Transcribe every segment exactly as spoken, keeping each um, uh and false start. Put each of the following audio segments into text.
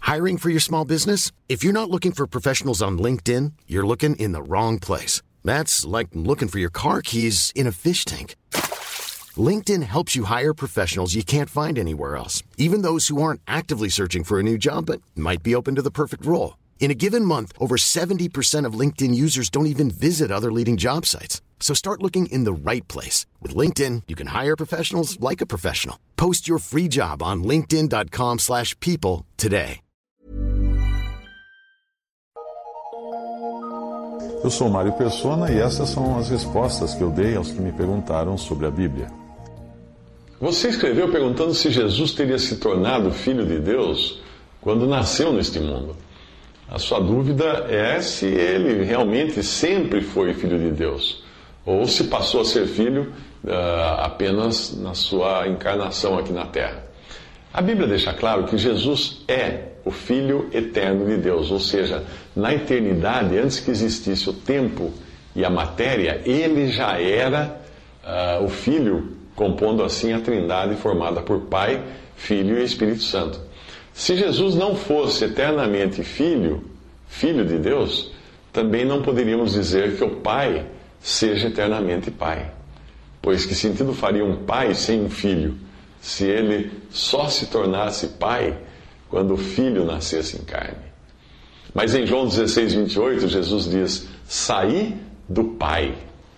Hiring for your small business? If you're not looking for professionals on LinkedIn, you're looking in the wrong place. That's like looking for your car keys in a fish tank. LinkedIn helps you hire professionals you can't find anywhere else, even those who aren't actively searching for a new job but might be open to the perfect role. In a given month, over seventy percent of LinkedIn users don't even visit other leading job sites. So start looking in the right place. With LinkedIn, you can hire professionals like a professional. Post your free job on linkedin dot com slash people today. Eu sou Mário Persona e essas são as respostas que eu dei aos que me perguntaram sobre a Bíblia. Você escreveu perguntando se Jesus teria se tornado filho de Deus quando nasceu neste mundo. A sua dúvida é se ele realmente sempre foi filho de Deus, ou se passou a ser filho uh, apenas na sua encarnação aqui na Terra. A Bíblia deixa claro que Jesus é o Filho eterno de Deus, ou seja, na eternidade, antes que existisse o tempo e a matéria, ele já era uh, o Filho, compondo assim a Trindade formada por Pai, Filho e Espírito Santo. Se Jesus não fosse eternamente Filho, Filho de Deus, também não poderíamos dizer que o Pai seja eternamente Pai. Pois que sentido faria um pai sem um filho, se ele só se tornasse pai quando o filho nascesse em carne? Mas em João dezesseis, vinte e oito, Jesus diz: saí do Pai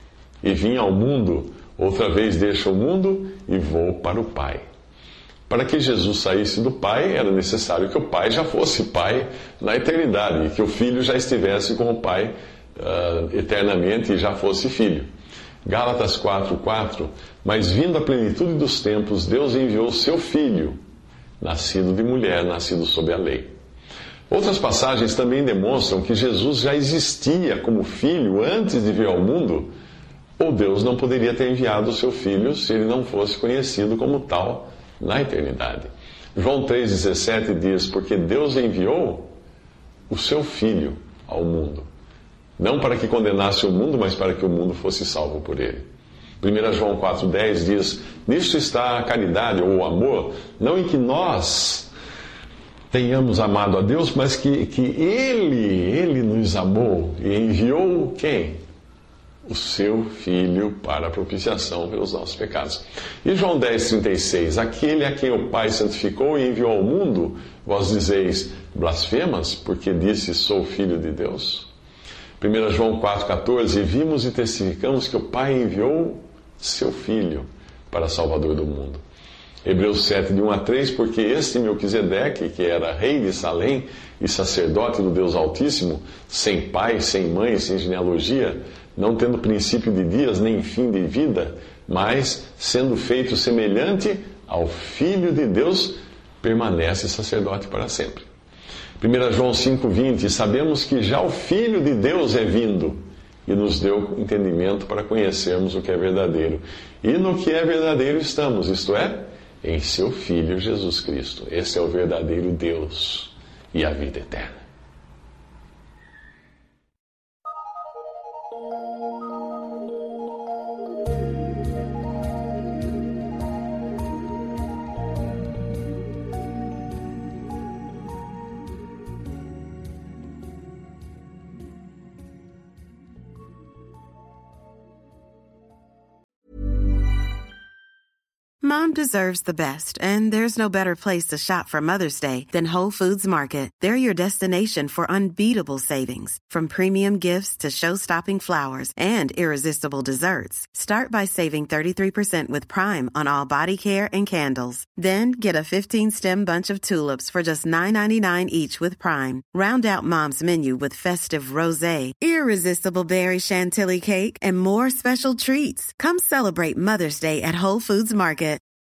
e vim ao mundo, outra vez deixo o mundo e vou para o Pai. Para que Jesus saísse do Pai, era necessário que o Pai já fosse Pai na eternidade, e que o Filho já estivesse com o Pai uh, eternamente e já fosse Filho. Gálatas quatro, quatro, mas vindo a plenitude dos tempos, Deus enviou o seu Filho, nascido de mulher, nascido sob a lei. Outras passagens também demonstram que Jesus já existia como Filho antes de vir ao mundo, ou Deus não poderia ter enviado o seu Filho se ele não fosse conhecido como tal na eternidade. João três, dezessete diz: porque Deus enviou o seu Filho ao mundo, não para que condenasse o mundo, mas para que o mundo fosse salvo por ele. primeira João quatro, dez diz: nisto está a caridade ou o amor, não em que nós tenhamos amado a Deus, mas que, que Ele, Ele nos amou e enviou quem? O seu Filho para a propiciação pelos nossos pecados. E João dez, trinta e seis, aquele a quem o Pai santificou e enviou ao mundo, vós dizeis, blasfemas, porque disse, sou Filho de Deus? primeira João quatro, quatorze, vimos e testificamos que o Pai enviou seu Filho para Salvador do mundo. Hebreus sete, de um a três, porque este Melquisedeque, que era rei de Salém e sacerdote do Deus Altíssimo, sem pai, sem mãe, sem genealogia, não tendo princípio de dias, nem fim de vida, mas, sendo feito semelhante ao Filho de Deus, permanece sacerdote para sempre. primeira João cinco, vinte, sabemos que já o Filho de Deus é vindo e nos deu entendimento para conhecermos o que é verdadeiro. E no que é verdadeiro estamos, isto é, em seu Filho Jesus Cristo. Esse é o verdadeiro Deus e a vida eterna. Mom deserves the best, and there's no better place to shop for Mother's Day than Whole Foods Market. They're your destination for unbeatable savings, from premium gifts to show-stopping flowers and irresistible desserts. Start by saving thirty-three percent with Prime on all body care and candles. Then get a fifteen-stem bunch of tulips for just nine ninety-nine each with Prime. Round out Mom's menu with festive rosé, irresistible berry chantilly cake, and more special treats. Come celebrate Mother's Day at Whole Foods Market.